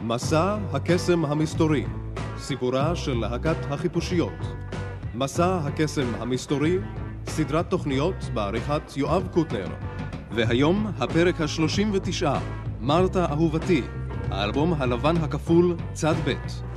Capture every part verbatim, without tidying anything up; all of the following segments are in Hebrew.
מסע הקסם המסתורי, סיפורה של להקת החיפושיות. מסע הקסם המסתורי, סדרת תוכניות בעריכת יואב קוטנר. והיום הפרק ה-שלושים ותשע, מרתה אהובתי, האלבום הלבן הכפול צד ב'.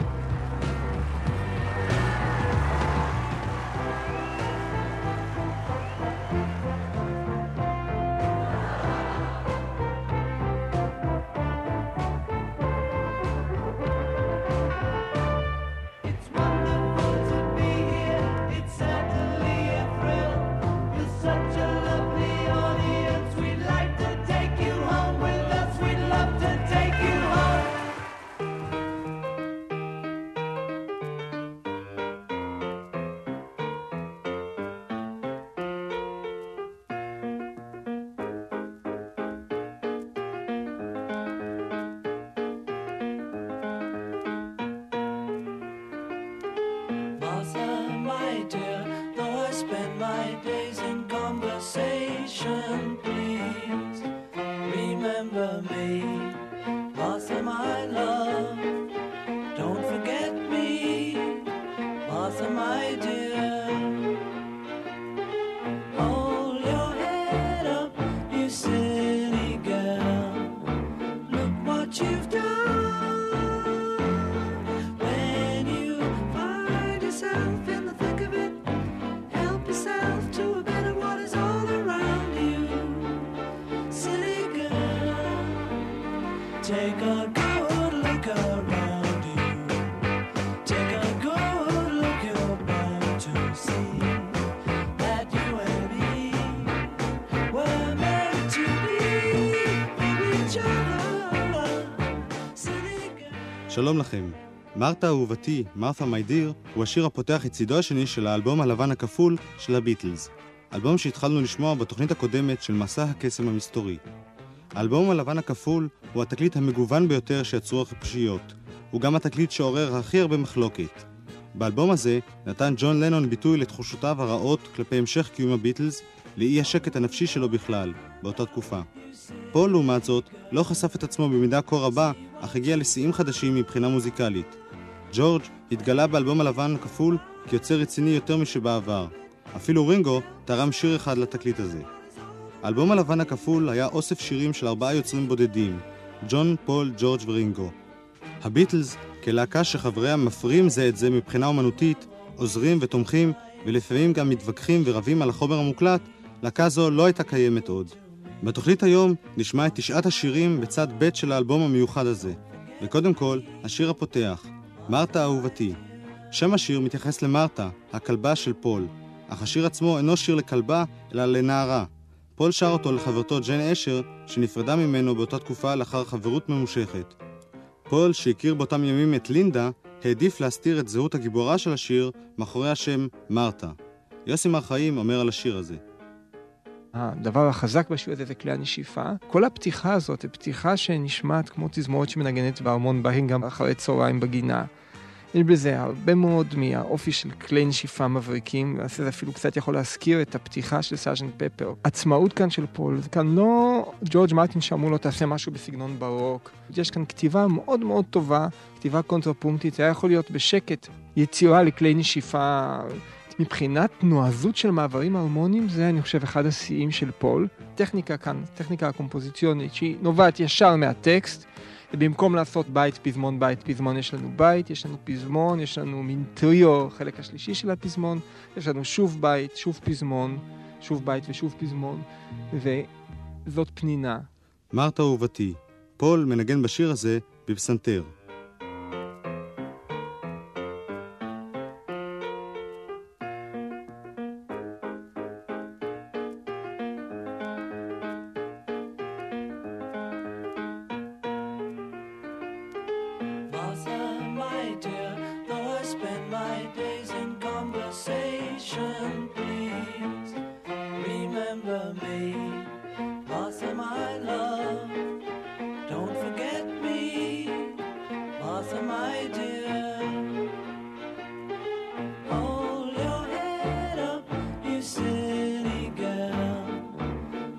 Take a good look around you. Take a good look, you're bound to see that you and me were meant to be with each other. שלום לכם. מרתה אהובתי, מרתה מי דיר, הוא השיר הפותח את צידו השני של האלבום הלבן הכפול של הביטלס. אלבום שהתחלנו לשמוע בתוכנית הקודמת של מסע הקסם המסתורי. האלבום הלבן הכפול הוא התקליט המגוון ביותר שיצרו החיפושיות. הוא גם התקליט שעורר הכי הרבה מחלוקת. באלבום הזה נתן ג'ון לנון ביטוי לתחושותיו הרעות כלפי המשך קיום הביטלס, לאי השקט הנפשי שלו בכלל, באותה תקופה. פול, לעומת זאת, לא חשף את עצמו במידה כה רבה, אך הגיע לשיאים חדשים מבחינה מוזיקלית. ג'ורג' התגלה באלבום הלבן הכפול כיוצר רציני יותר משבעבר. אפילו רינגו תרם שיר אחד לתקליט הזה. האלבום הלבן הכפול היה אוסף שירים של ארבעה יוצרים בודדים, ג'ון, פול, ג'ורג' ורינגו. הביטלס, כלהקה שחבריה מפרים זה את זה מבחינה אומנותית, עוזרים ותומכים, ולפעמים גם מתווכחים ורבים על החומר המוקלט, להקה זו לא הייתה קיימת עוד. בתוכנית היום נשמע את תשעת השירים בצד ב' של האלבום המיוחד הזה. וקודם כל, השיר הפותח, מרתה אהובתי. שם השיר מתייחס למרתה, הכלבה של פול, אך השיר עצמו אינו שיר לכלבה, אלא לנערה. פול שר אותו לחברתו ג'ן אשר, שנפרדה ממנו באותה תקופה לאחר חברות ממושכת. פול, שהכיר באותם ימים את לינדה, העדיף להסתיר את זהות הגיבורה של השיר מאחורי השם מרתה. יוסי מרחיים אומר על השיר הזה. הדבר החזק בשיר הזה זה כלי הנשיפה. כל הפתיחה הזאת היא פתיחה שנשמעת כמו תזמורת שמנגנת בארמון בהן גם אחרי צהריים בגינה. יש בזה הרבה מאוד מהאופי של כלי נשיפה מבריקים, וזה אפילו קצת יכול להזכיר את הפתיחה של סארג'נט פפר. עצמאות כאן של פול, זה כאן לא ג'ורג' מרטין שאמרו לו תעשה משהו בסגנון ברוק. יש כאן כתיבה מאוד מאוד טובה, כתיבה קונטרפונקטית, זה היה יכול להיות בשקט, יצירה לכלי נשיפה. מבחינת נועזות של מעברים הרמוניים, זה אני חושב אחד השיאים של פול. טכניקה כאן, טכניקה הקומפוזיציונית, שהיא נובעת ישר מהטקסט, ובמקום לעשות בית, פזמון, בית, פזמון, יש לנו בית, יש לנו פזמון, יש לנו מין טריו, חלק השלישי של הפזמון, יש לנו שוב בית, שוב פזמון, שוב בית ושוב פזמון, וזאת פנינה. מרתה אהובתי, פול מנגן בשיר הזה בפסנתר.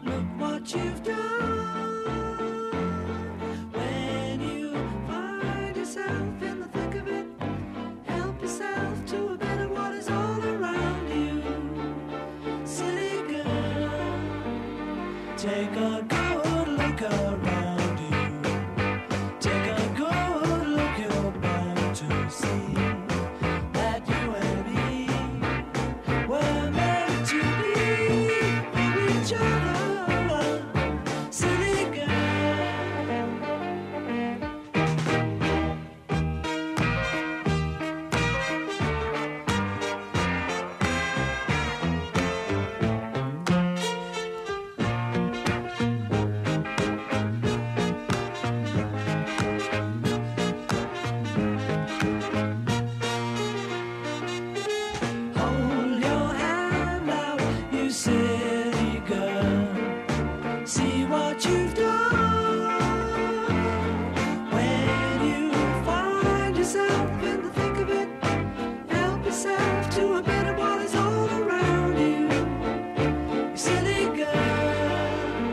You've done when you find a good look around you. Take a good look, you're bound to see that you and me were meant to be for each other. Silly hold your hand out, you silly girl. See what you've done. When you find yourself in the thick of it, help yourself to a bit of what is all around you. You silly girl.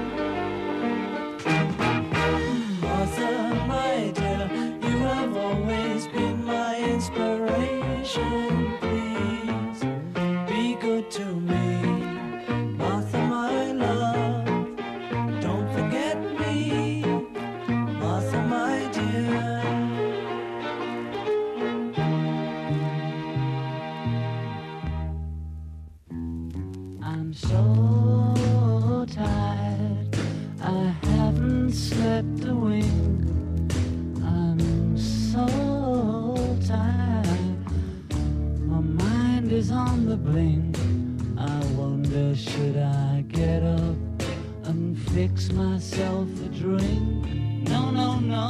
Martha, my dear, you have always been my inspiration. Please be good to me. Martha, my love, don't forget me. Martha, my dear. I'm so tired, I haven't slept a wink. I'm so tired, my mind is on the blink. I wonder, should I get up and fix myself a drink? No, no, no,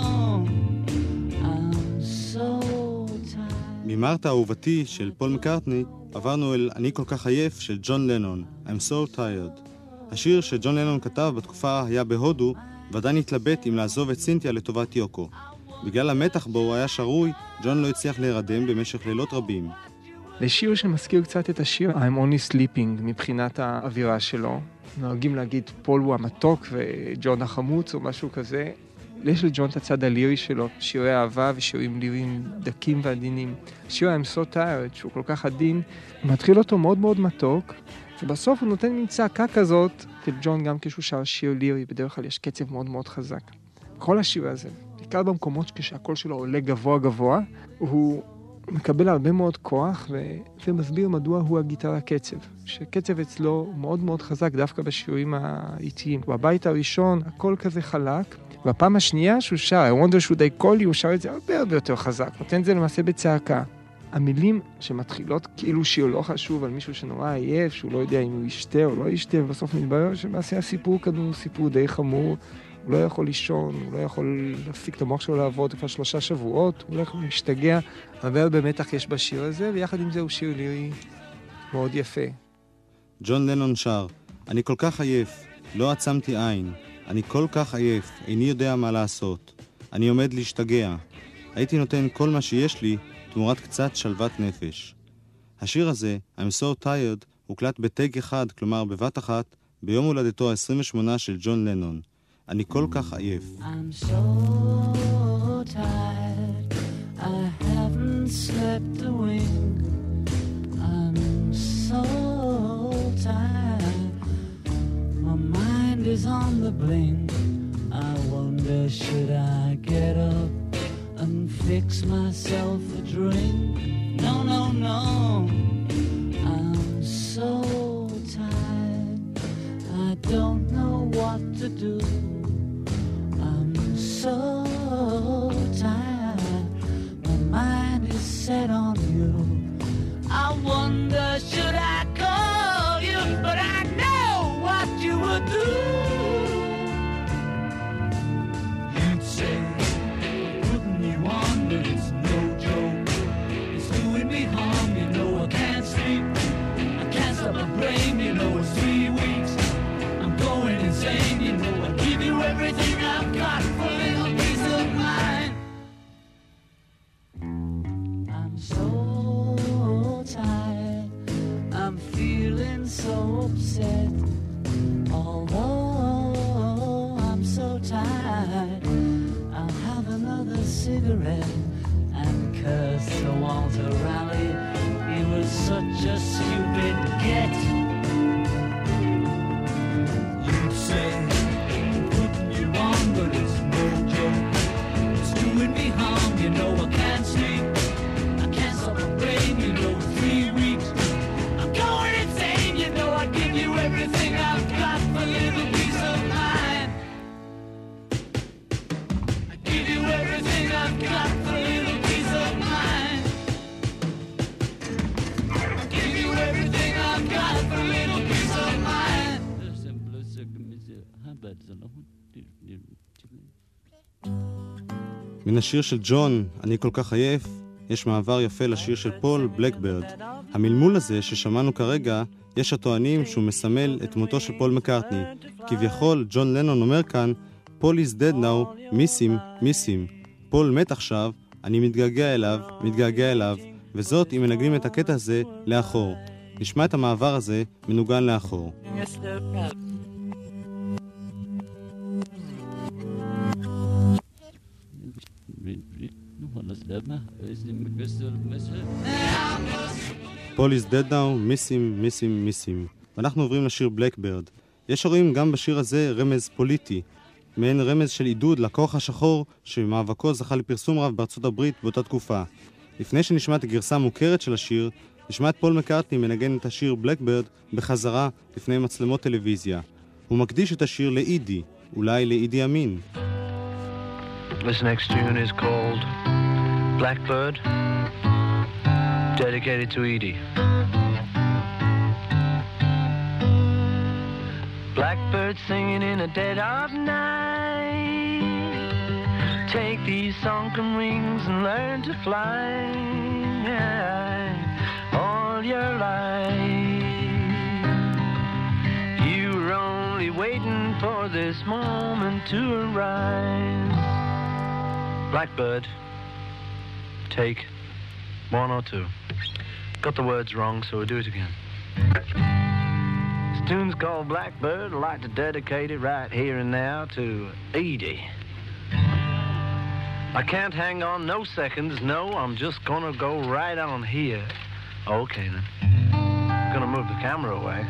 I'm so tired. ממרתה אהובתי של פול מקארטני עברנו אל אני כל כך עייף של ג'ון לנון, I'm so tired. השיר שג'ון לנון כתב בתקופה היה בהודו ועדיין התלבט אם לעזוב את סינתיה לטובת יוקו. בגלל המתח בו הוא היה שרוי, ג'ון לא הצליח להירדם במשך לילות רבים. לשיר שמזכיר קצת את השיר I'm Only Sleeping מבחינת האווירה שלו. נוהגים להגיד פול הוא המתוק וג'ון החמוץ או משהו כזה. יש לג'ון את הצד הלירי שלו, שירי אהבה ושירים ליריים דקים ועדינים. השיר I'm So Tired, שהוא כל כך עדין, מתחיל אותו מאוד מאוד מתוק, ובסוף הוא נותן מין צעקה כזאת, לג'ון גם כשהוא שר שיר לירי, בדרך כלל יש קצב מאוד מאוד חזק. כל השיר הזה, בעיקר במקומות כשהקול שלו עולה גבוה גבוה, הוא מקבל הרבה מאוד כוח ו... ומסביר מדוע הוא הגיטרה קצב. שקצב אצלו מאוד מאוד חזק דווקא בשירים האיטיים. בבית הראשון הכל כזה חלק, והפעם השנייה שהוא שר, I wonder should I call you, הוא שר את זה הרבה הרבה יותר חזק. נותן את זה למעשה בצעקה. המילים שמתחילות כאילו שיר לא חשוב על מישהו שנורא עייף, שהוא לא יודע אם הוא ישתה או לא ישתה, ובסוף מתברר שמעשה הסיפור כאן הוא סיפור די חמור. הוא לא יכול לישון, הוא לא יכול להפסיק את המוח שלו לעבוד כבר שלושה שבועות, הוא לא יכול להשתגע, אבל במתח יש בשיר הזה, ויחד עם זה הוא שיר לירי מאוד יפה. ג'ון לנון שר, אני כל כך עייף, לא עצמתי עין, אני כל כך עייף, איני יודע מה לעשות. אני עומד להשתגע. הייתי נותן כל מה שיש לי תמורת קצת שלוות נפש. השיר הזה, I'm so tired, הוקלט בטייק אחד, כלומר בבת אחת, ביום הולדתו ה-עשרים ושמונה של ג'ון לנון. אני כל כך עייף. I'm so tired, I haven't slept a wink. I'm so tired, my mind is on the blink. I wonder, should I get up and fix myself a drink? No, no, no, I'm so tired, I don't know what to do. I'm so tired, my mind is set on you. I wonder, should I call you? But I know what you would do. You'd say, putting you on, but it's no joke. It's doing me harm, you know I can't sleep. I can't stop my brain, you know it's three weeks. I'm going insane, you know I give you everything I've got for a little peace of mind. I'm so tired, I'm feeling so upset. Although I'm so tired, I'll have another cigarette and curse Sir Walter Raleigh. He was such a stupid get. You'd say, You know I can't sleep, I can't stop my brain. You know for three weeks I'm going insane. You know I'd give you everything I've got for a little peace of mind. I'd give you everything I've got for a little peace of mind. I'd give you everything I've got for a little peace of mind. מן השיר של ג'ון, אני כל כך עייף, יש מעבר יפה לשיר של פול, בלקברד. המלמול הזה ששמענו כרגע, יש הטוענים שהוא מסמל את מותו של פול מקארטני. כביכול, ג'ון לנון אומר כאן, פול is dead now, miss him, miss him. פול מת עכשיו, אני מתגעגע אליו, מתגעגע אליו, וזאת אם מנגנים את הקטע הזה לאחור. נשמע את המעבר הזה מנוגן לאחור. פול is dead now, miss him, miss him, miss him. ואנחנו עוברים לשיר בלקברד. יש הרואים גם בשיר הזה רמז פוליטי, מעין רמז של עידוד לכוח השחור שמאבקו זכה לפרסום רב בארצות הברית באותה תקופה. לפני שנשמע את הגרסה המוכרת של השיר, נשמע את פול מקארטני מנגן את השיר בלקברד בחזרה לפני מצלמות טלוויזיה. הוא מקדיש את השיר לאידי, אולי לאידי אמין. This next tune is called Blackbird, dedicated to Edie. Blackbird singing in the dead of night. Take these sunken wings and learn to fly all your life. You were only waiting for this moment to arise. Blackbird, take one or two. Got the words wrong, so we'll do it again. This tune's called Blackbird. I'd like to dedicate it right here and now to Edie. I can't hang on no seconds, no, I'm just gonna go right on here. Okay then. Gonna move the camera away.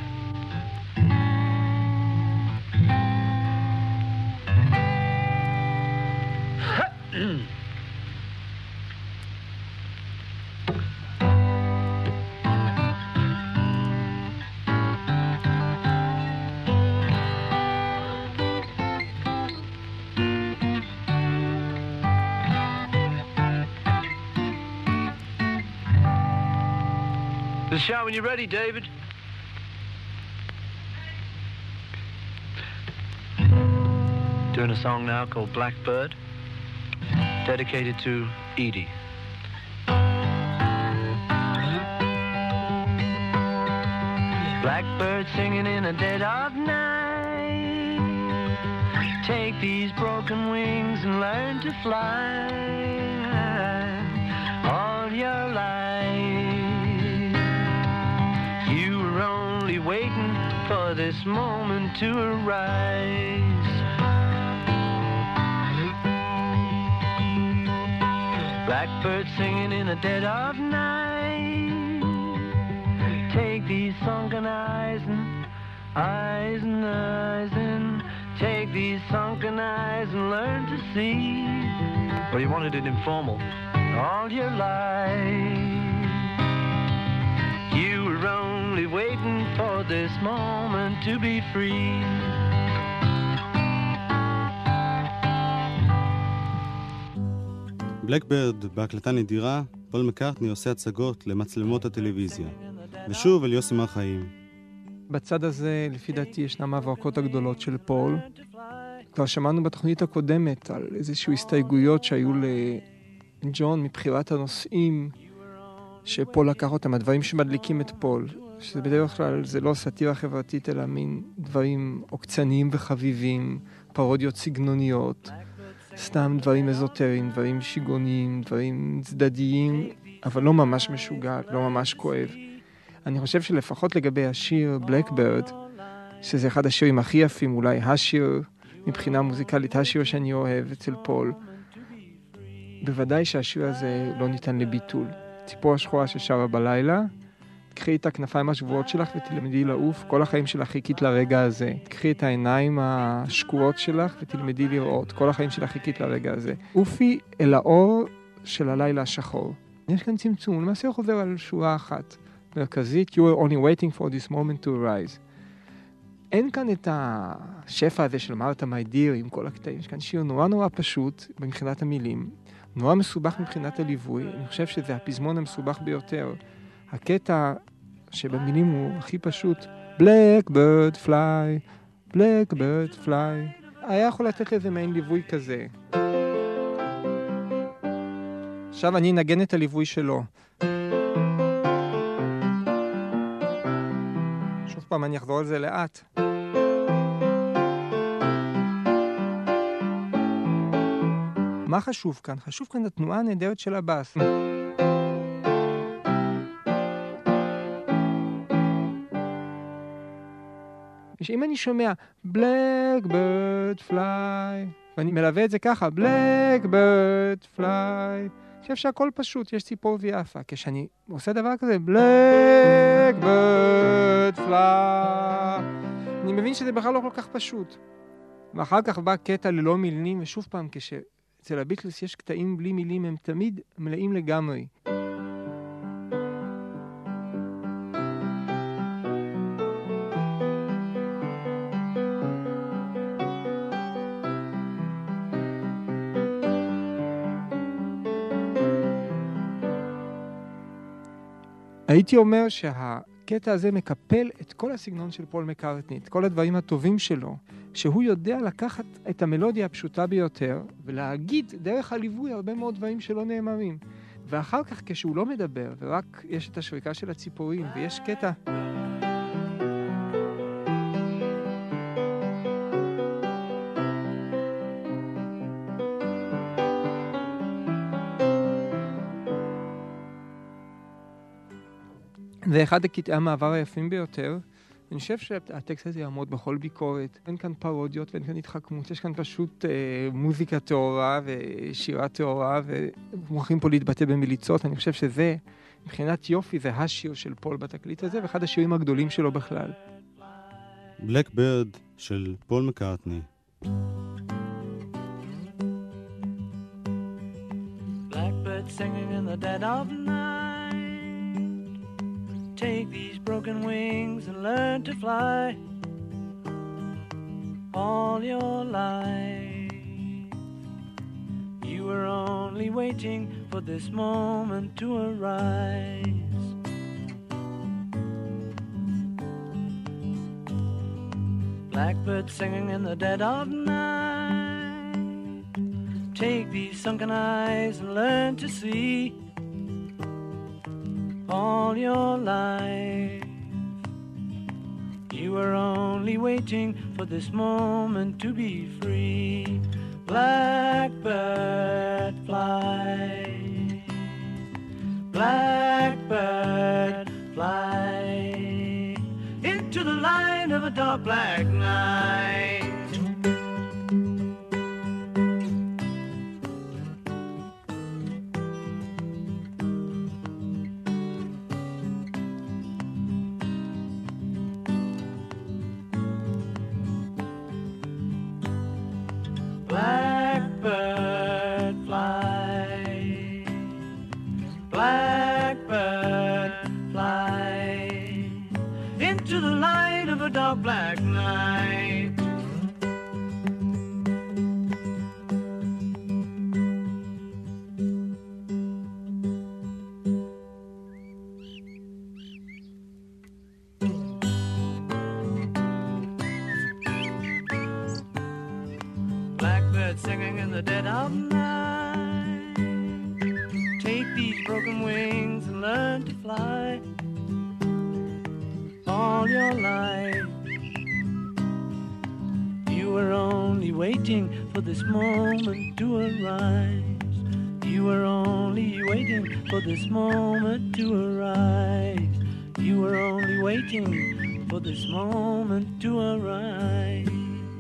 The show when you're ready, David. Doing a song now called Blackbird, dedicated to Edie. Blackbird singing in the dead of night. Take these broken wings and learn to fly all your life. You were only waiting for this moment to arise. Blackbird singing in the dead of night. Take these sunken eyes and eyes and eyes and take these sunken eyes and learn to see. Well, you wanted it informal all your life. You were only waiting for this moment to be free. בלקברד, בהקלטה נדירה, פול מקארטני עושה הצגות למצלמות הטלוויזיה. ושוב אל יוסי מר חיים. בצד הזה, לפי דעתי, ישנם ההברקות הגדולות של פול. כבר שמענו בתוכנית הקודמת על איזשהו הסתייגויות שהיו לג'ון מבחירת הנושאים שפול לקח אותם, הדברים שמדליקים את פול, שזה בדרך כלל זה לא סאטירה חברתית, אלא מין דברים עוקצניים וחביבים, פרודיות סגנוניות, סתם דברים אזוטריים, דברים שיגוניים, דברים צדדיים, אבל לא ממש משוגע, לא ממש כואב. אני חושב שלפחות לגבי השיר בלקברד, שזה אחד השירים הכי יפים, אולי השיר מבחינה מוזיקלית, השיר שאני אוהב אצל פול, בוודאי שהשיר הזה לא ניתן לביטול. ציפור השחורה ששרה בלילה, תקחי את הכנפיים השבועות שלך ותלמדי לעוף, כל החיים שלך חיכית לרגע הזה. תקחי את העיניים השקועות שלך ותלמדי לראות, כל החיים שלך חיכית לרגע הזה. אופי אל האור של הלילה השחור. יש כאן צמצום, למעשה הוא חוזר על שורה אחת מרכזית, You were only waiting for this moment to arise. אין כאן את השפע הזה של מרתה מיידיר עם כל הקטעים, יש כאן שיר נורא נורא פשוט מבחינת המילים, נורא מסובך מבחינת הליווי, אני חושב שזה הפזמון המסובך ביותר. הקטע שבמילים הוא הכי פשוט, Blackbird fly, Blackbird fly, היה יכול לתת לזה מעין ליווי כזה. עכשיו אני אנגן את הליווי שלו. שוב פעם אני אחזור על זה לאט. מה חשוב כאן? חשוב כאן התנועה הנהדרת של הבאס. שאם אני שומע Blackbird fly, ואני מלווה את זה ככה, Blackbird fly, אני חושב שהכל פשוט, יש ציפור ויפה. כשאני עושה דבר כזה, Blackbird fly, אני מבין שזה בכלל לא כל כך פשוט. ואחר כך בא קטע ללא מילים, ושוב פעם, כשאצל הביטלס יש קטעים בלי מילים, הם תמיד מלאים לגמרי. הייתי אומר שהקטע הזה מקפל את כל הסגנון של פול מקארטני, את כל הדברים הטובים שלו, שהוא יודע לקחת את המלודיה הפשוטה ביותר, ולהגיד דרך הליווי הרבה מאוד דברים שלא נאמרים. ואחר כך כשהוא לא מדבר, ורק יש את השריקה של הציפורים, ויש קטע... זה אחד הקטעי המעבר היפים ביותר. אני חושב שהטקסט הזה יעמוד בכל ביקורת. אין כאן פרודיות ואין כאן התחכמות. יש כאן פשוט אה, מוזיקה תאורה ושירה תאורה, ומוכרחים פה להתבטא במיליצות. אני חושב שזה, מבחינת יופי, זה השיר של פול בתקליט הזה, ואחד השירים הגדולים שלו בכלל. Blackbird של פול מקארטני. Blackbird singing in the dead of night. Take these broken wings and learn to fly all your life. You were only waiting for this moment to arise. Blackbird singing in the dead of night. Take these sunken eyes and learn to see all your life. You were only waiting for this moment to be free. Blackbird fly, blackbird fly into the light of a dark black night. Blackbird fly, blackbird fly into the light of a dark black night. Singing in the dead of night. Take these broken wings and learn to fly all your life. You were only waiting for this moment to arise. You were only waiting for this moment to arise. You were only waiting for this moment to arise.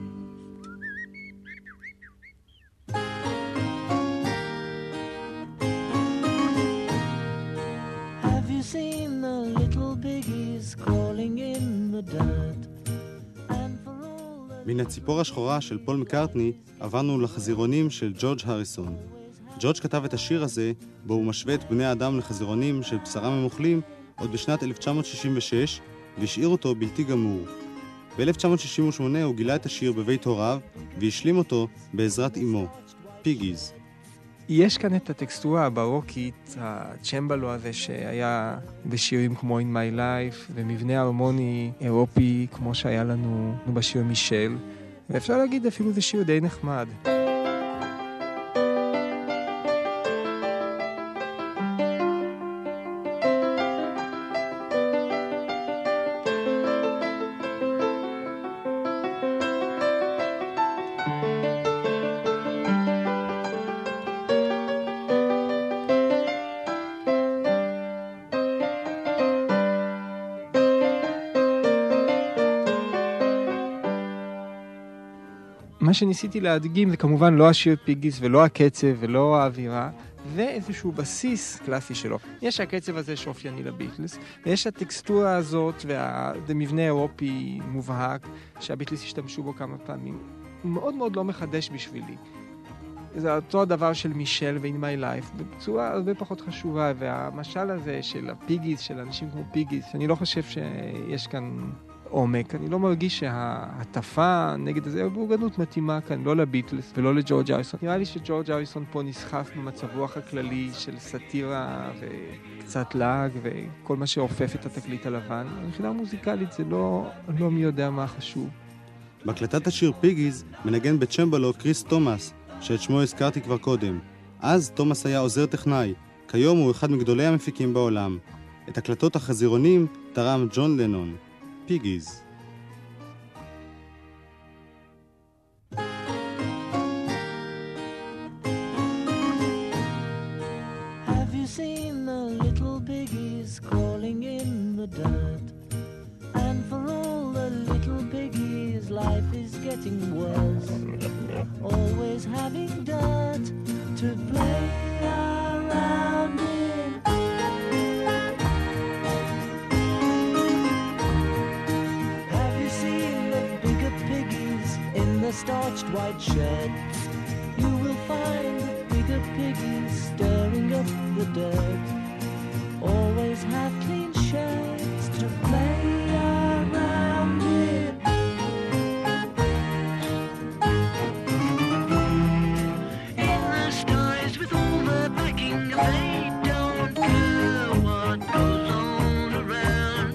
Seen the little biggies crawling in the dirt. And for all the... מן הציפור השחורה של פול מקארטני עברנו לחזירונים של ג'ורג' הריסון. ג'ורג' כתב את השיר הזה, בו הוא משווה את בני האדם לחזירונים של בשרם הם אוכלים, עוד בשנת אלף תשע מאות שישים ושש, והשאיר אותו בלתי גמור. ב-אלף תשע מאות שישים ושמונה הוא גילה את השיר בבית הוריו, והשלים אותו בעזרת אמו, פיגיז. יש כאן את הטקסטורה הברוקית, הצ'מבלו הזה שהיה בשירים כמו In My Life, ומבנה הרמוני אירופי כמו שהיה לנו בשיר מישל, ואפשר להגיד אפילו זה שיר די נחמד. מה שניסיתי להדגים זה כמובן לא השיר פיגיס ולא הקצב ולא האווירה, ואיזשהו בסיס קלאסי שלו. יש הקצב הזה שאופייני לביטלס, ויש הטקסטורה הזאת והמבנה אירופי מובהק שהביטלס השתמשו בו כמה פעמים. הוא מאוד מאוד לא מחדש בשבילי. זה אותו הדבר של מישל ו-In My Life, בצורה הרבה פחות חשובה, והמשל הזה של הפיגיס, של אנשים כמו פיגיס, אני לא חושב שיש כאן עומק. אני לא מרגיש שההטפה נגד הזה הבורגנות מתאימה כאן, לא לביטלס ולא לג'ורג' אריסון. נראה לי שג'ורג' אריסון פה נסחף במצב רוח הכללי של סאטירה וקצת לעג וכל מה שאופף את התקליט הלבן. מבחינה מוזיקלית זה לא, לא מי יודע מה חשוב. בהקלטת השיר פיגיז מנגן בצ'מבלו קריס תומאס, שאת שמו הזכרתי כבר קודם. אז תומאס היה עוזר טכנאי, כיום הוא אחד מגדולי המפיקים בעולם. את הקלטות החזירונים תרם ג'ון לנון. פיגיז. Have you seen the little piggies crawling in the dirt? And for all the little piggies, life is getting worse. Always having dirt to play around in. Have you seen the bigger piggies in the starched white shed? You will find the bigger piggies stirring up the dirt. Always have clean sheds to play around in. In the skies with all the backing, they don't care what goes on around.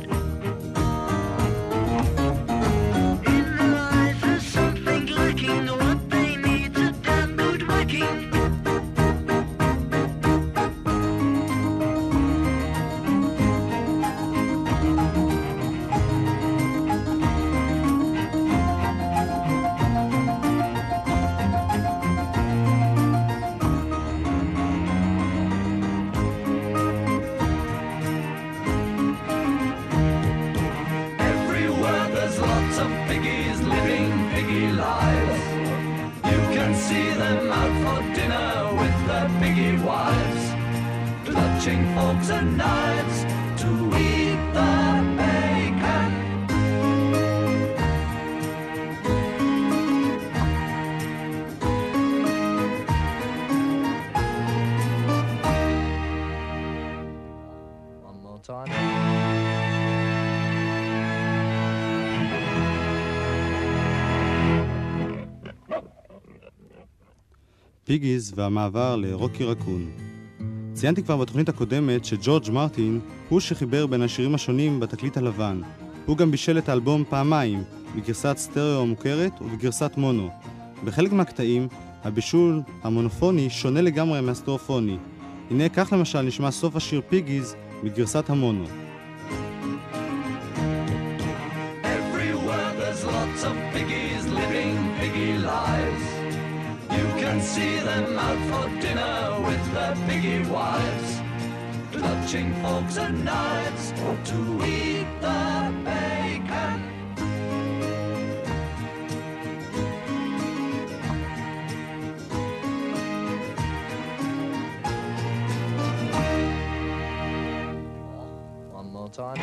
In their eyes there's something lacking, what they need's a damn good whacking. Everywhere there's lots of piggies living piggy lives. You can see them out for dinner with their piggy wives, clutching forks and knives to eat the bacon. One more time. פיגיז והמעבר לרוקי רקון. ציינתי כבר בתוכנית הקודמת שג'ורג' מרטין הוא שחיבר בין השירים השונים בתקליט הלבן. הוא גם בישל את האלבום פעמיים, בגרסת סטריאו מוכרת ובגרסת מונו. בחלק מהקטעים, הבישול המונופוני שונה לגמרי מהסטריאופוני. הנה כך למשל נשמע סוף השיר פיגיז בגרסת המונו. Everywhere there's lots of piggies living piggy lives. You can see them out for dinner with their piggy wives, clutching forks and knives to eat the bacon. One more time.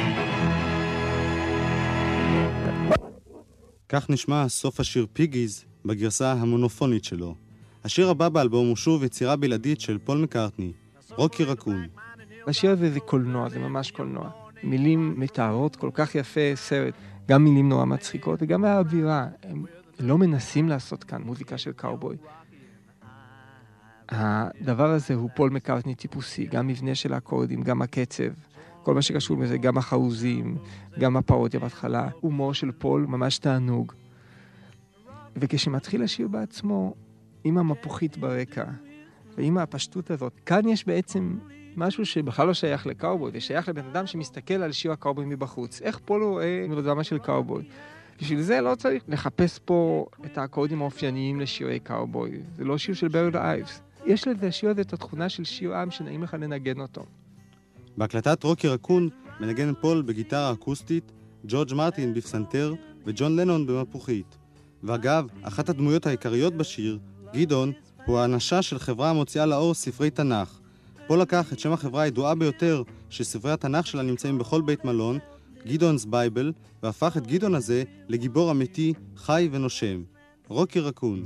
כך נשמע סוף השיר פיגיז בגרסה המונופונית שלו. השיר הבא באלבום הוא שוב יצירה בלעדית של פול מקארטני, רוקי רקון. השיר הזה זה קולנוע, זה ממש קולנוע. מילים מתארות כל כך יפה סרט, גם מילים נורא מצחיקות וגם האווירה. הם לא מנסים לעשות כאן מוזיקה של קאובוי. הדבר הזה הוא פול מקארטני טיפוסי, גם מבנה של האקורדים, גם הקצב, כל מה שקשור בזה, גם החרוזים, גם הפרודיה בהתחלה, הומור של פול, ממש תענוג. וכשמתחיל השיר בעצמו, עם המפוחית ברקע, ועם הפשטות הזאת, כאן יש בעצם משהו שבכלל לא שייך לקאובוי, ושייך לבן אדם שמסתכל על שיר הקאובוי מבחוץ. איך פול רואה מלודרמה של קאובוי? בשביל זה לא צריך לחפש פה את האקורדים האופייניים לשירי קאובוי. זה לא שיר של ברד אייבס. יש לזה השיר הזה את התכונה של שיר עם שנעים לך לנגן אותו. בהקלטת רוקי רקון מנגן פול בגיטרה אקוסטית, ג'ורג' מרטין בפסנתר וג'ון לנון במפוחית. ואגב, אחת הדמויות העיקריות בשיר, גדעון, הוא האנשה של חברה המוציאה לאור ספרי תנ"ך. פול לקח את שם החברה הידועה ביותר שספרי התנ"ך שלה נמצאים בכל בית מלון, גדעונ's בייבל, והפך את גדעון הזה לגיבור אמיתי, חי ונושם. רוקי רקון.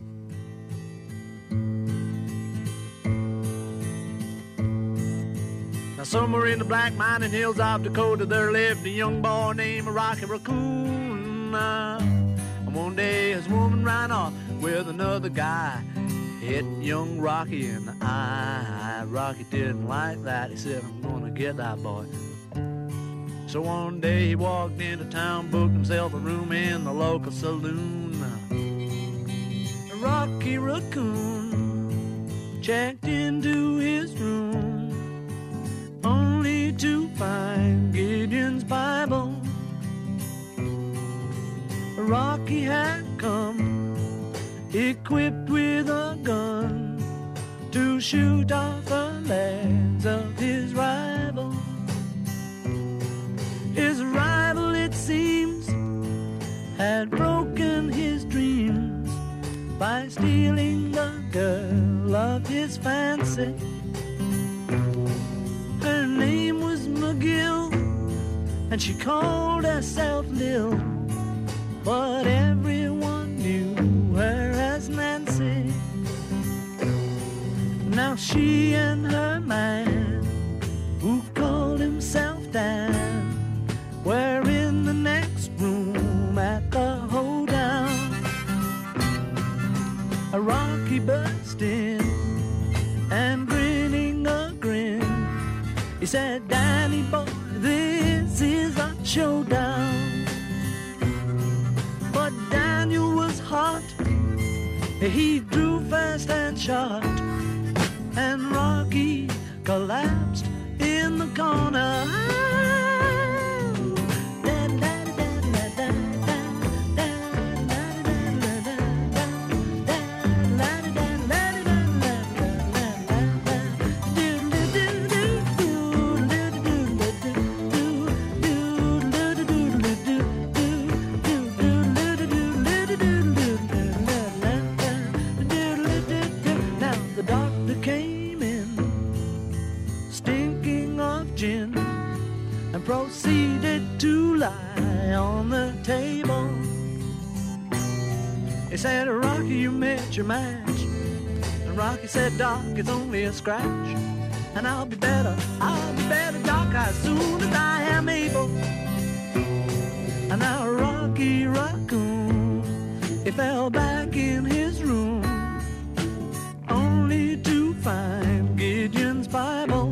Now somewhere in the black mining hills of Dakota there lived a young boy named Rocky Raccoon. Uh, and one day his woman ran off with another guy, hit young Rocky in the eye. Rocky didn't like that. He said, I'm gonna get that boy. So one day he walked into town, booked himself a room in the local saloon. Rocky Raccoon checked into his room, only to find Gideon's Bible. Rocky had come equipped with a gun to shoot off the legs of his rival. His rival, it seems, had broken his dreams by stealing the girl of his fancy. Her name was McGill, and she called herself Lil, but everyone knew her as Nancy. Now she and her man, who called himself Dan, were in the next room at the hoedown. A Rocky burst in, and grinning a grin, he said, Danny boy, this is a showdown. But Daniel was hot, he drew fast and shot, and Rocky collapsed in the corner. Proceeded to lie on the table. He said, Rocky, you met your match. And Rocky said, Doc, it's only a scratch. And I'll be better, I'll be better, Doc, as soon as I am able. And now Rocky Raccoon, he fell back in his room, only to find Gideon's Bible.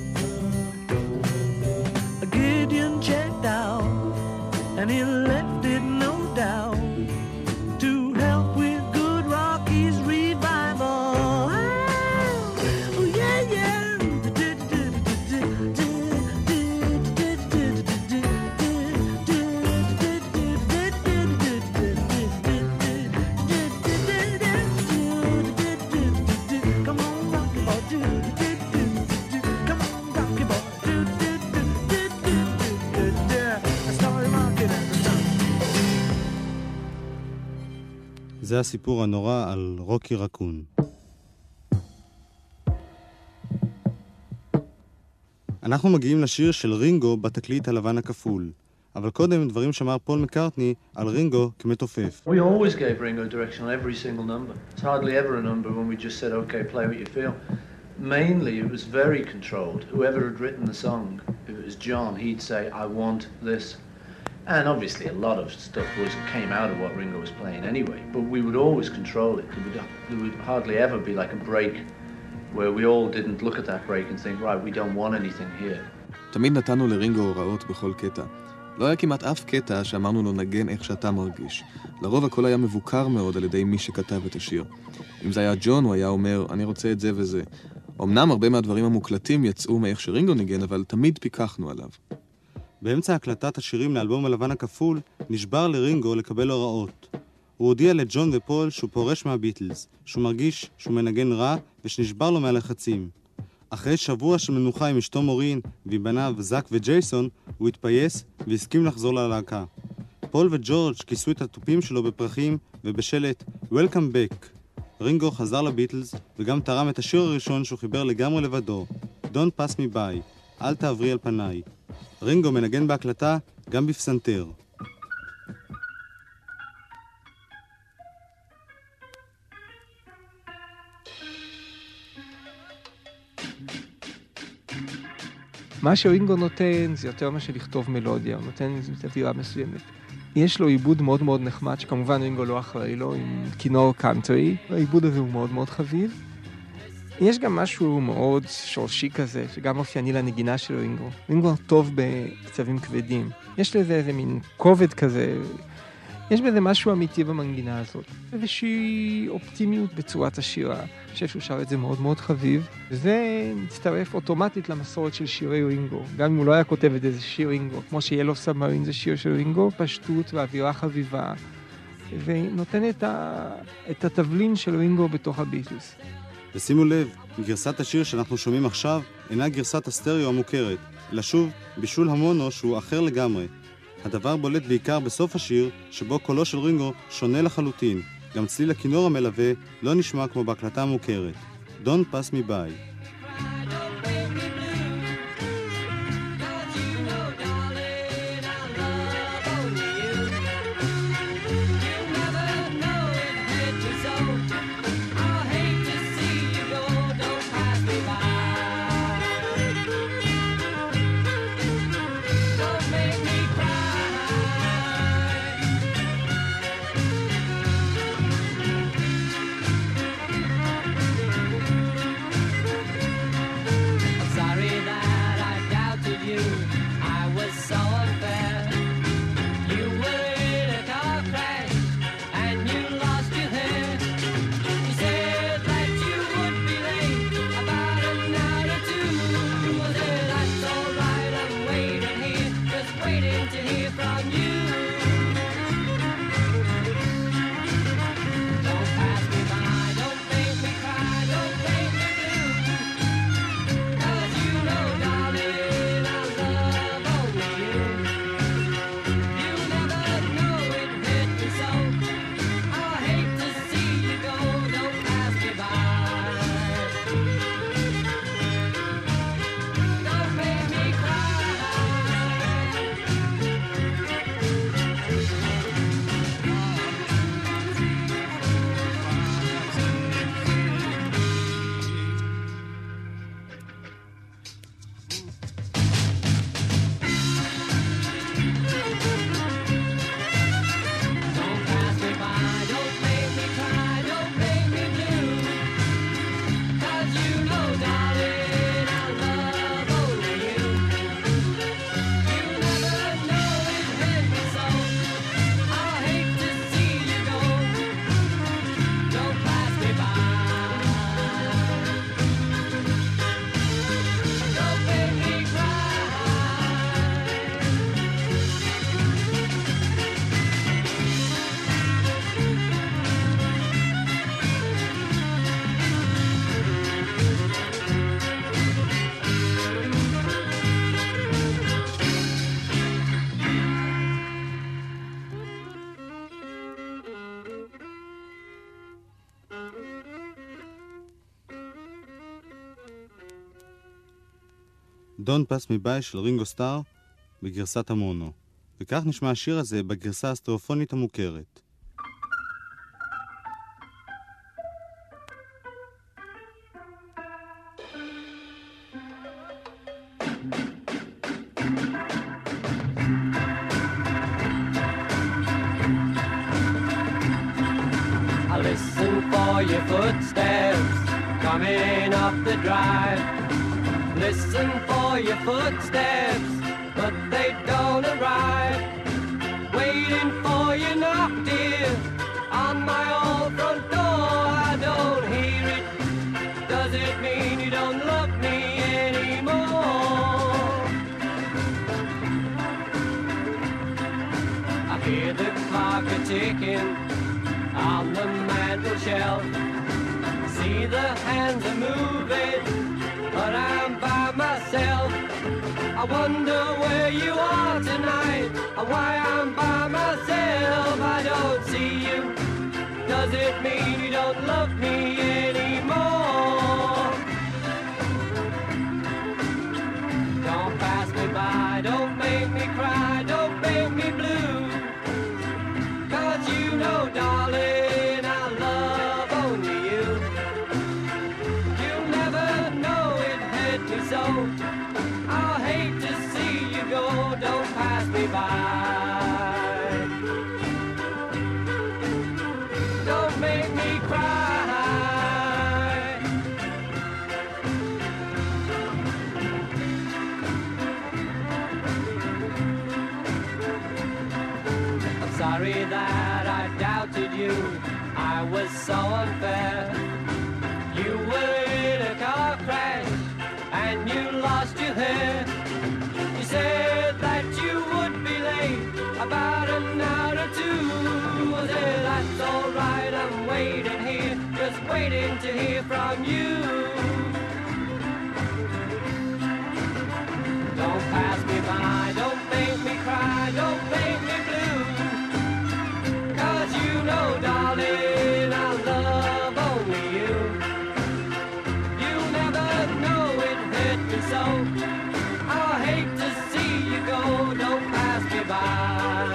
Gideon checked out, and he left it no doubt to help with good Rocky's revival. Oh yeah, yeah. Come on, Rocky boy, come on, Rocky boy. זה הסיפור הנורא על רוקי רקון. אנחנו מגיעים לשיר של רינגו בתקליט הלבן הכפול. אבל קודם דברים שאמר פול מקארטני על רינגו כמתופף. We always gave Ringo direction on every single number. It's hardly ever a number when we just said, okay, play what you feel. Mainly, it was very controlled. Whoever had written the song, if it was John, he'd say, I want this. And obviously a lot of stuff was came out of what Ringo was playing anyway, but we would always control it. There would, there would hardly ever be like a break where we all didn't look at that break and think, right, we don't want anything here. תמיד נתנו לרינגו הוראות בכל קטע. לא היה כמעט אף קטע שאמרנו לו נגן איך שאתה מרגיש. לרוב הכל היה מבוקר מאוד על ידי מי שכתב את השיר. אם זה היה ג'ון, הוא היה אומר, אני רוצה את זה וזה. אמנם הרבה מהדברים המוקלטים יצאו מאיך שרינגו ניגן, אבל תמיד פיקחנו עליו. באמצע הקלטת השירים לאלבום הלבן הכפול, נשבר לרינגו לקבל הוראות. הוא הודיע לג'ון ופול שהוא פורש מהביטלס, שהוא מרגיש שהוא מנגן רע ושנשבר לו מהלחצים. אחרי שבוע של מנוחה עם אשתו מורין ועם בניו זק וג'ייסון, הוא התפייס והסכים לחזור ללהקה. פול וג'ורג' כיסו את הטופים שלו בפרחים ובשלט Welcome back. רינגו חזר לביטלס וגם תרם את השיר הראשון שהוא חיבר לגמרי לבדו, Don't pass me by, אל תעברי על פניי. רינגו מנגן בהקלטה גם בפסנתר. מה שרינגו נותן זה יותר מה שלכתוב מלודיה, הוא נותן איזו אווירה מסוימת. יש לו עיבוד מאוד מאוד נחמד, שכמובן רינגו לא אחראי לו, עם כינור קאנטרי. העיבוד הזה הוא מאוד מאוד חביב. יש גם משהו מאוד שורשי כזה, שגם אופייני לנגינה של רינגו. רינגו טוב בקצבים כבדים. יש לזה איזה מין כובד כזה, יש בזה משהו אמיתי במנגינה הזאת. איזושהי אופטימיות בצורת השירה. אני חושב שהוא שר את זה מאוד מאוד חביב. וזה מצטרף אוטומטית למסורת של שירי רינגו. גם אם הוא לא היה כותב את איזה שיר רינגו, כמו שיאלו סאבמרין זה שיר של רינגו, פשטות ואווירה חביבה. ונותן את, ה... את התבלין של רינגו בתוך הביטלס. ושימו לב, גרסת השיר שאנחנו שומעים עכשיו אינה גרסת הסטריאו המוכרת, אלא שוב בישול המונו שהוא אחר לגמרי. הדבר בולט בעיקר בסוף השיר, שבו קולו של רינגו שונה לחלוטין. גם צליל הכינור המלווה לא נשמע כמו בהקלטה המוכרת. Don't pass me by. Don't pass me by של רינגו סטאר בגרסת המונו. וכך נשמע השיר הזה בגרסה הסטריאופונית המוכרת. Listen for your footsteps coming up the drive. Listen for your footsteps, but they don't arrive. Waiting for you knock, dear, on my old front door. I don't hear it. Does it mean you don't love me anymore? I hear the clock a-ticking on the mantel shelf. See the hands are moving, but I'm by myself. I wonder where you are tonight, and why I'm by myself. I don't see you. Does it mean you don't love me anymore? Don't pass me by, don't make me cry, don't make me blue. 'Cause you know, darling, I love only you. You'll never know it hurt me so. I'll hate to see you go, don't pass me by. Don't make me cry. I'm sorry that I doubted you. I was so unfair. You were in a car crash and you lost your hair. You said that you would be late about an hour or two. I said, that's all right, I'm waiting here, just waiting to hear from you. Don't pass me by, don't make me cry, don't make me blue. 'Cause you know, darling, I love only you. You'll never know it hurt me so. I hate to see you go, don't pass me by.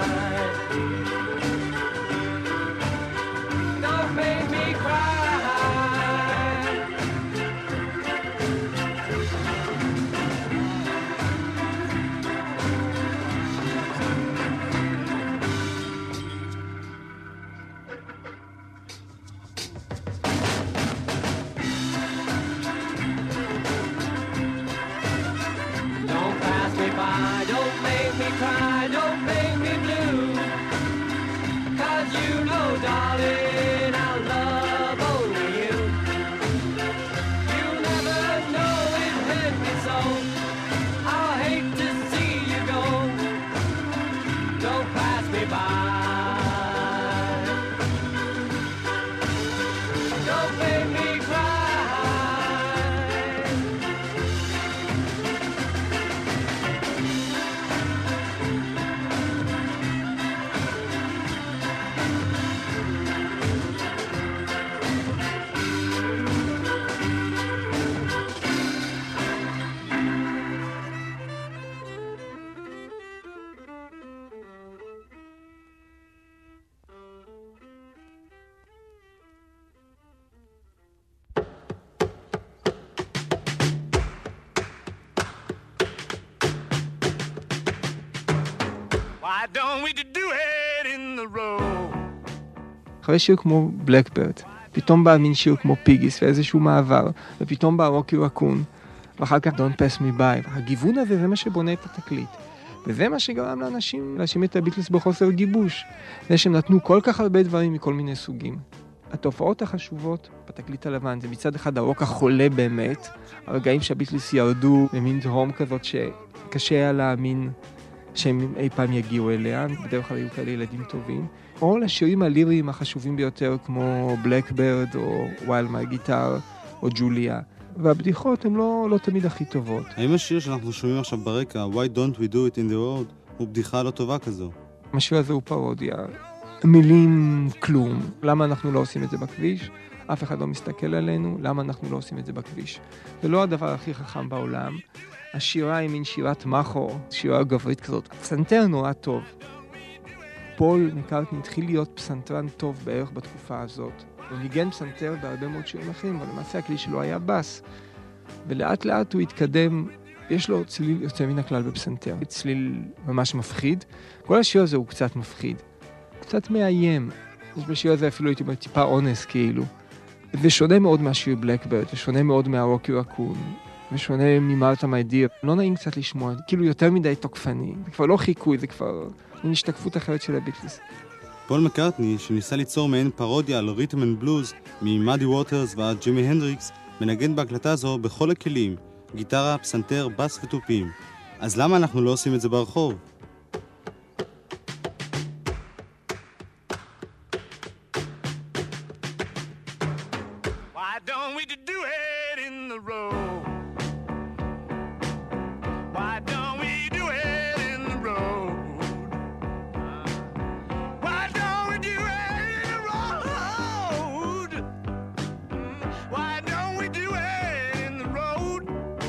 Don't make me cry. Don't pass me by, don't make me cry, don't make me blue. 'Cause you know, darling, I love only you. You'll never know it hurt me so. I'll hate to see you go. Don't pass me by. Don't make me cry. Why don't we do it in the road? אחרי שיר כמו בלקברד, פתאום בא מין שיר כמו פיגיס ואיזשהו מעבר, ופתאום בא רוקי רקון, ואחר כך Don't Pass Me By. הגיוון הזה זה מה שבונה את התקליט. וזה מה שגרם לאנשים להאשים את הביטלס בחוסר גיבוש. זה שהם נתנו כל כך הרבה דברים מכל מיני סוגים. התופעות החשובות בתקליט הלבן זה מצד אחד הרוק החולה באמת, הרגעים שהביטלס ירדו במין דרום כזאת שקשה היה להאמין שהם אי פעם יגיעו אליה, בדרך כלל היו כאלה ילדים טובים, או לשירים הליריים החשובים ביותר כמו בלקברד או ווייל מי גיטר או ג'וליה. והבדיחות הן לא, לא תמיד הכי טובות. האם השיר שאנחנו שומעים עכשיו ברקע, Why Don't We Do It in the Road, הוא בדיחה לא טובה כזו? השיר הזה הוא פרודיה. מילים כלום. למה אנחנו לא עושים את זה בכביש? אף אחד לא מסתכל עלינו. למה אנחנו לא עושים את זה בכביש? זה לא הדבר הכי חכם בעולם. השירה היא מין שירת מחו, שירה גברית כזאת. הפסנתר נורא טוב. פול מקארטני התחיל להיות פסנתרן טוב בערך בתקופה הזאת. הוא ניגן פסנתר בהרבה מאוד שירים אחרים, אבל למעשה הכלי שלו היה בס. ולאט לאט הוא התקדם, יש לו צליל יוצא מן הכלל בפסנתר. צליל ממש מפחיד. כל השיר הזה הוא קצת מפחיד. קצת מאיים. יש בשיר הזה אפילו הייתי אומר טיפה אונס כאילו. ושונה מאוד מהשיר בלקברד, ושונה מאוד מהרוקי רקון, ושונה ממרתה מי דיר. לא נעים קצת לשמוע, כאילו יותר מדי תוקפני. זה כבר לא חיקוי, זה כבר מין השתקפות אחרת של הביטלס. פול מקארטני, שניסה ליצור מעין פרודיה על ריתם אנד בלוז, ממאדי ווטרס ועד ג'ימי הנדריקס, מנגן בהקלטה זו בכל הכלים, גיטרה, פסנתר, בס וטופים. אז למה אנחנו לא עושים את זה ברחוב? Why don't we do it in the road? Why don't we do it in the road? Why don't we do it in the road? Why don't we do it in the road?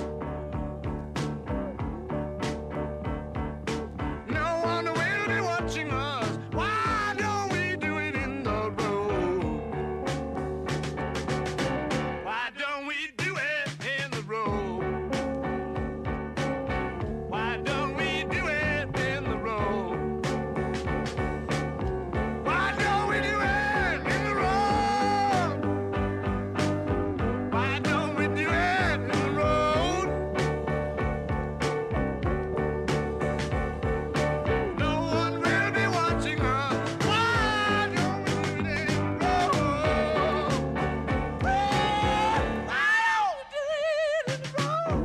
No one will be watching us. Why don't we do it in the road? Why don't we do it in the road? Why don't we do it in the road? Why don't we do it in the road? Why don't we do it in the road? No one will be watching us. Why don't we do it in the road? Why don't we do it in the road?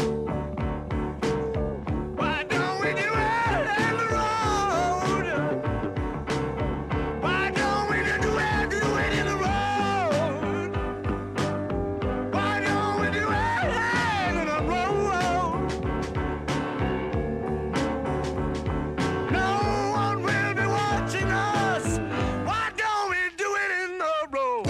Why don't we do it in the road? Why don't we do it, do it in the road? Why don't we do it in the road? No one will be watching us. Why don't we do it in the road?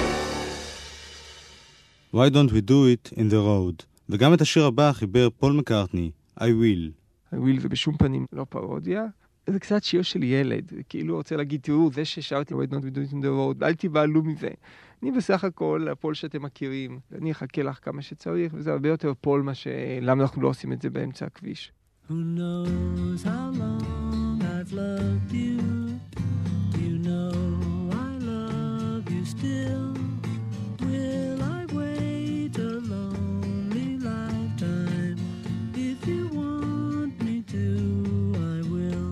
Why don't we do it in the road? וגם את השיר הבא חיבר פול מקארטני, I will. הוויל זה בשום פנים לא פרודיה. זה קצת שיר של ילד, כאילו רוצה להגיד, תראו, זה ששרתי Why don't we do it in the road, אל תבעלו מזה. אני בסך הכל, הפול שאתם מכירים, אני אחכה לך כמה שצריך, וזה הרבה יותר פול מה שלמה אנחנו לא עושים את זה באמצע הכביש. Who knows how long I've loved you? You know I love you still. Will I wait a lonely lifetime? If you want me to, I will.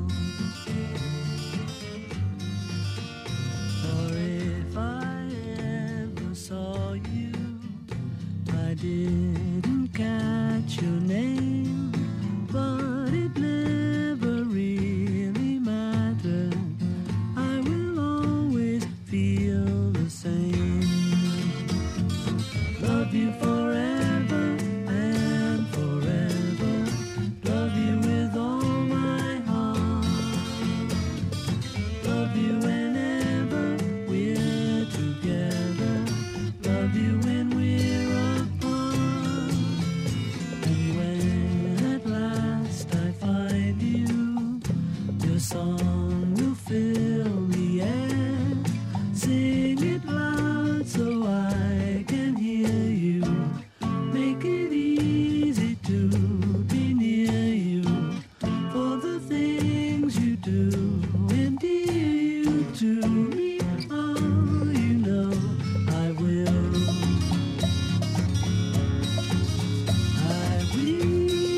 Or if I ever saw you, I didn't catch your name, but it never really mattered. I will always feel the same. Love you forever and forever. Love you with all my heart. Love you whenever we're together. Love you when we're apart. And when at last I find you, your song will fill the air. Sing it loud so I can hear you. Make it easy to be near you. For the things you do endear you to me. Oh, you know I will. I will.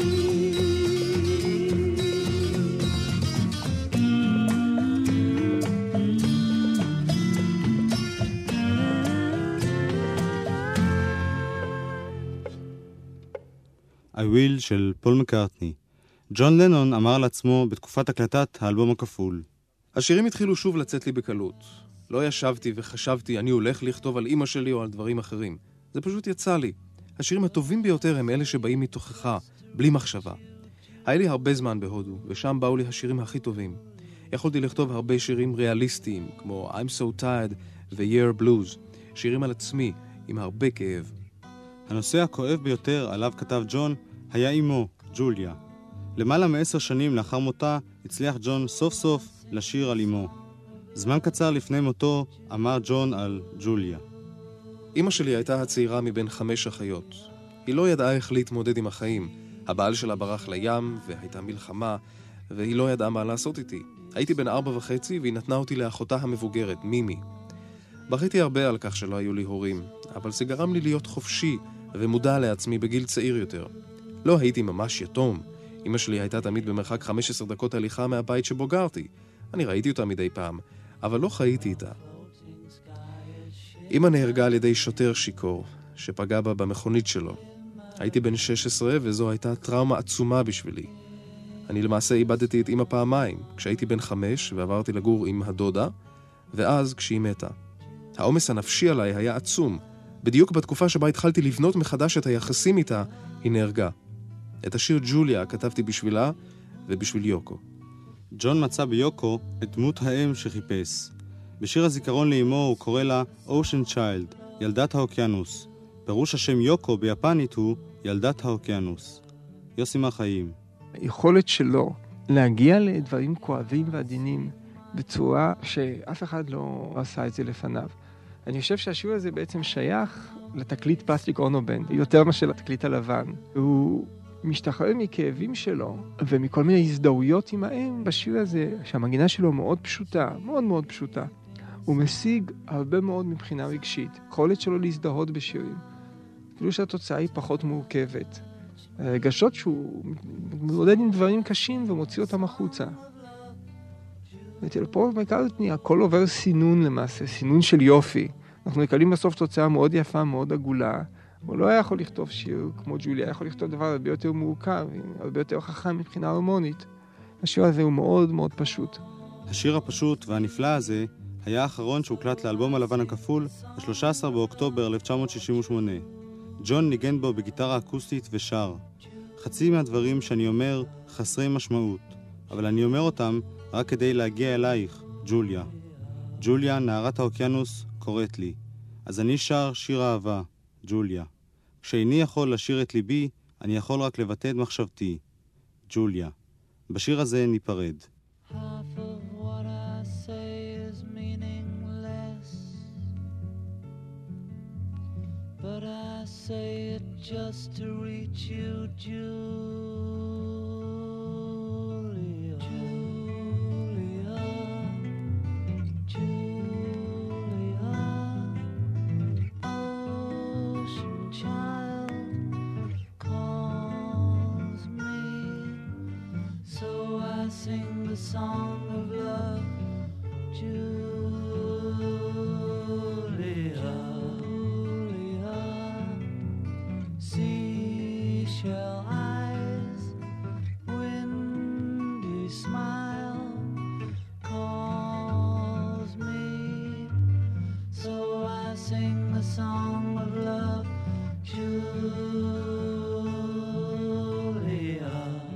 I will של פול מקארטני. ג'ון לנון אמר לעצמו בתקופת הקלטת האלבום הכפול. השירים התחילו שוב לצאת לי בקלות. לא ישבתי וחשבתי אני הולך לכתוב על אמא שלי או על דברים אחרים. זה פשוט יצא לי. השירים הטובים ביותר הם אלה שבאים מתוכך, בלי מחשבה. היה לי הרבה זמן בהודו, ושם באו לי השירים הכי טובים. יכולתי לכתוב הרבה שירים ריאליסטיים, כמו I'm So Tired ו-Year Blues, שירים על עצמי, עם הרבה כאב. הנושא הכואב ביותר עליו כתב ג'ון היה אמו, ג'וליה. למעלה מעשר שנים לאחר מותה הצליח ג'ון סוף סוף לשיר על אמו. זמן קצר לפני מותו אמר ג'ון על ג'וליה. אמא שלי הייתה הצעירה מבין חמש אחיות. היא לא ידעה איך להתמודד עם החיים. הבעל שלה ברח לים והייתה מלחמה, והיא לא ידעה מה לעשות איתי. הייתי בן ארבע וחצי והיא נתנה אותי לאחותה המבוגרת, מימי. בכיתי הרבה על כך שלא היו לי הורים, אבל זה גרם לי להיות חופשי ומודע לעצמי בגיל צעיר יותר. לא הייתי ממש יתום. אמא שלי הייתה תמיד במרחק חמש עשרה דקות הליכה מהבית שבו גרתי. אני ראיתי אותה מדי פעם, אבל לא חייתי איתה. אמא נהרגה על ידי שוטר שיקור, שפגע בה במכונית שלו. הייתי בן שש עשרה וזו הייתה טראומה עצומה בשבילי. אני למעשה איבדתי את אמא פעמיים, כשהייתי בן חמש ועברתי לגור עם הדודה, ואז כשהיא מתה. העומס הנפשי עליי היה עצום. בדיוק בתקופה שבה התחלתי לבנות מחדש את היחסים איתה, היא נהרגה. את השיר ג'וליה כתבתי בשבילה ובשביל יוקו. ג'ון מצא ביוקו את דמות האם שחיפש. בשיר הזיכרון לאמו הוא קורא לה Ocean Child, ילדת האוקיינוס. פירוש השם יוקו ביפנית הוא ילדת האוקיינוס. יוסי מהחיים. היכולת שלו להגיע לדברים כואבים ועדינים בצורה שאף אחד לא עשה את זה לפניו. אני חושב שהשיר הזה בעצם שייך לתקליט פלסטיק אונובנד, יותר מאשר לתקליט הלבן. הוא משתחרר מכאבים שלו ומכל מיני הזדהויות עם האם בשיר הזה, שהמגינה שלו מאוד פשוטה, מאוד מאוד פשוטה. הוא משיג הרבה מאוד מבחינה רגשית, יכולת שלו להזדהות בשירים. אפילו שהתוצאה היא פחות מורכבת. הרגשות שהוא מתמודד עם דברים קשים ומוציא אותם החוצה. וטלפור מקארטני, הכל עובר סינון למעשה, סינון של יופי. אנחנו מקבלים בסוף תוצאה מאוד יפה, מאוד עגולה. הוא לא היה יכול לכתוב שיר כמו ג'וליה, היה יכול לכתוב דבר הרבה יותר מורכב, הרבה יותר חכם מבחינה הרמונית. השיר הזה הוא מאוד מאוד פשוט. השיר הפשוט והנפלא הזה היה האחרון שהוקלט לאלבום הלבן הכפול ב-שלושה עשר באוקטובר אלף תשע מאות שישים ושמונה. ג'ון ניגן בו בגיטרה אקוסטית ושר. חצי מהדברים שאני אומר חסרי משמעות, אבל אני אומר אותם רק כדי להגיע אלייך, ג'וליה. ג'וליה, נערת האוקיינוס, קוראת לי. אז אני שר שיר אהבה, ג'וליה. כשאיני יכול לשיר את ליבי, אני יכול רק לבטא את מחשבתי, ג'וליה. בשיר הזה ניפרד. Half of what I say is meaningless, but I say it just to reach you, Julia. Julia, Julia, ocean child calls me, so I sing the song of love, Julia, Julia. Seashell eyes, windy smile calls me, so I sing the song of love, Julia.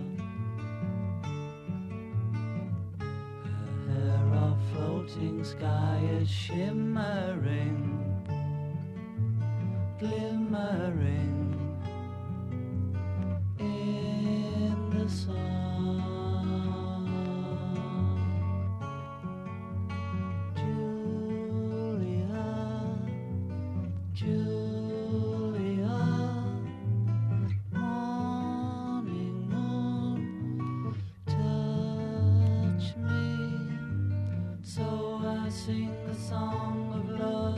Floating sky is shimmering, glimmering in the sun. Julia, Julia, morning moon, touch me. So I sing the song of love,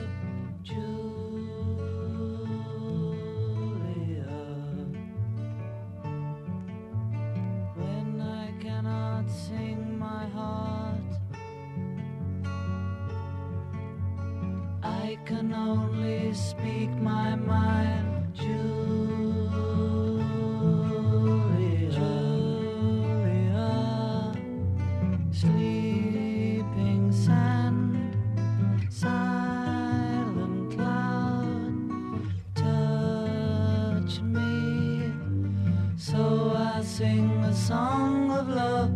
Julia. When I cannot sing my heart, I can only speak my mind, Julia. Julia, sleeping sand, silent cloud, touch me, so I sing the song of love,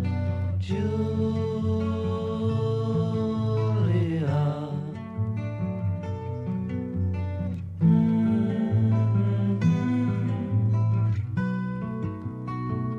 Julia. Mm-hmm.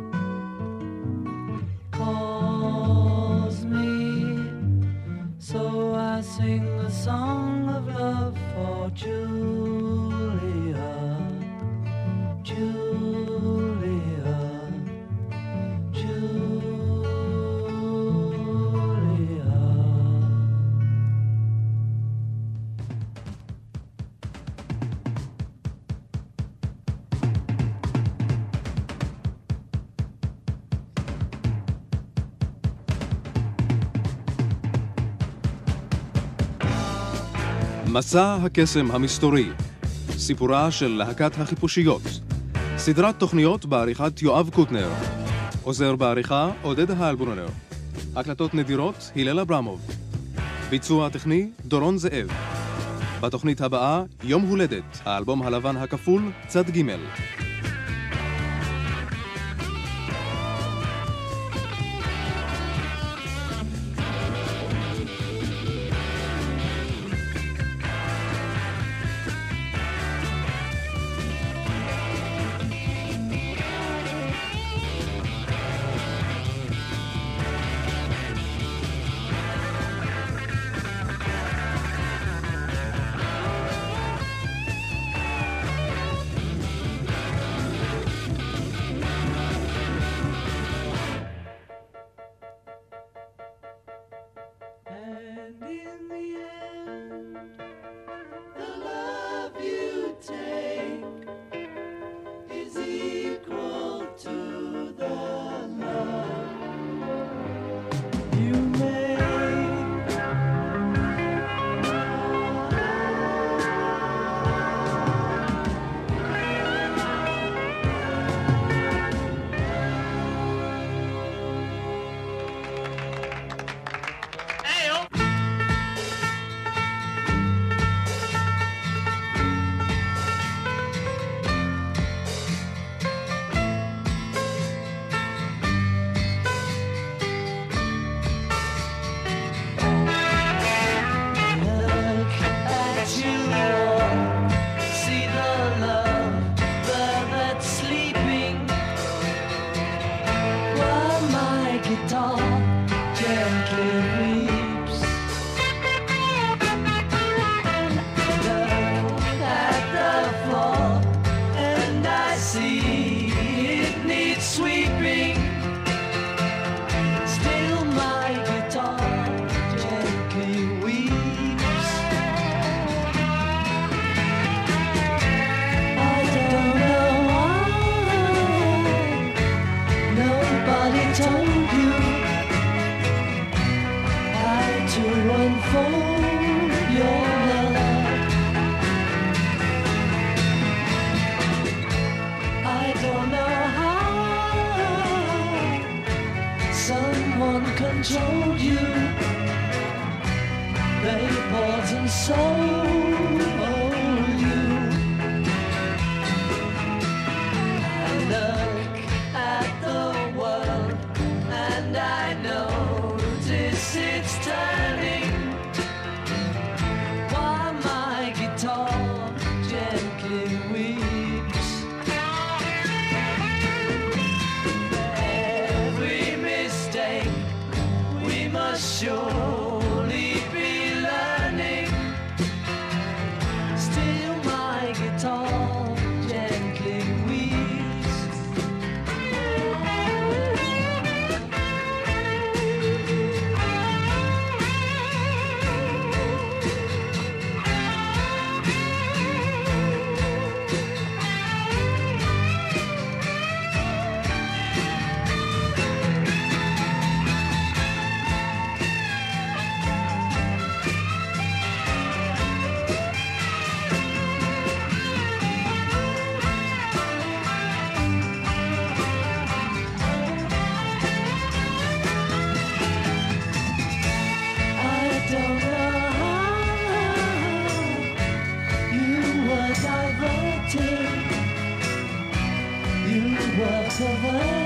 מסע הקסם המסתורי, סיפורה של להקת החיפושיות, סדרת תוכניות בעריכת יואב קוטנר, עוזר בעריכה עודד האלברונר, הקלטות נדירות הלל אברמוב, ביצוע טכני דורון זאב. בתוכנית הבאה יום הולדת, האלבום הלבן הכפול צד ג'. Controlled you, they bought and sold you. I look at the world and I notice it's turning, while my guitar gently weeps. Every mistake we must surely be learning. Still my guitar gently weeps. You were diverted, you were perverted.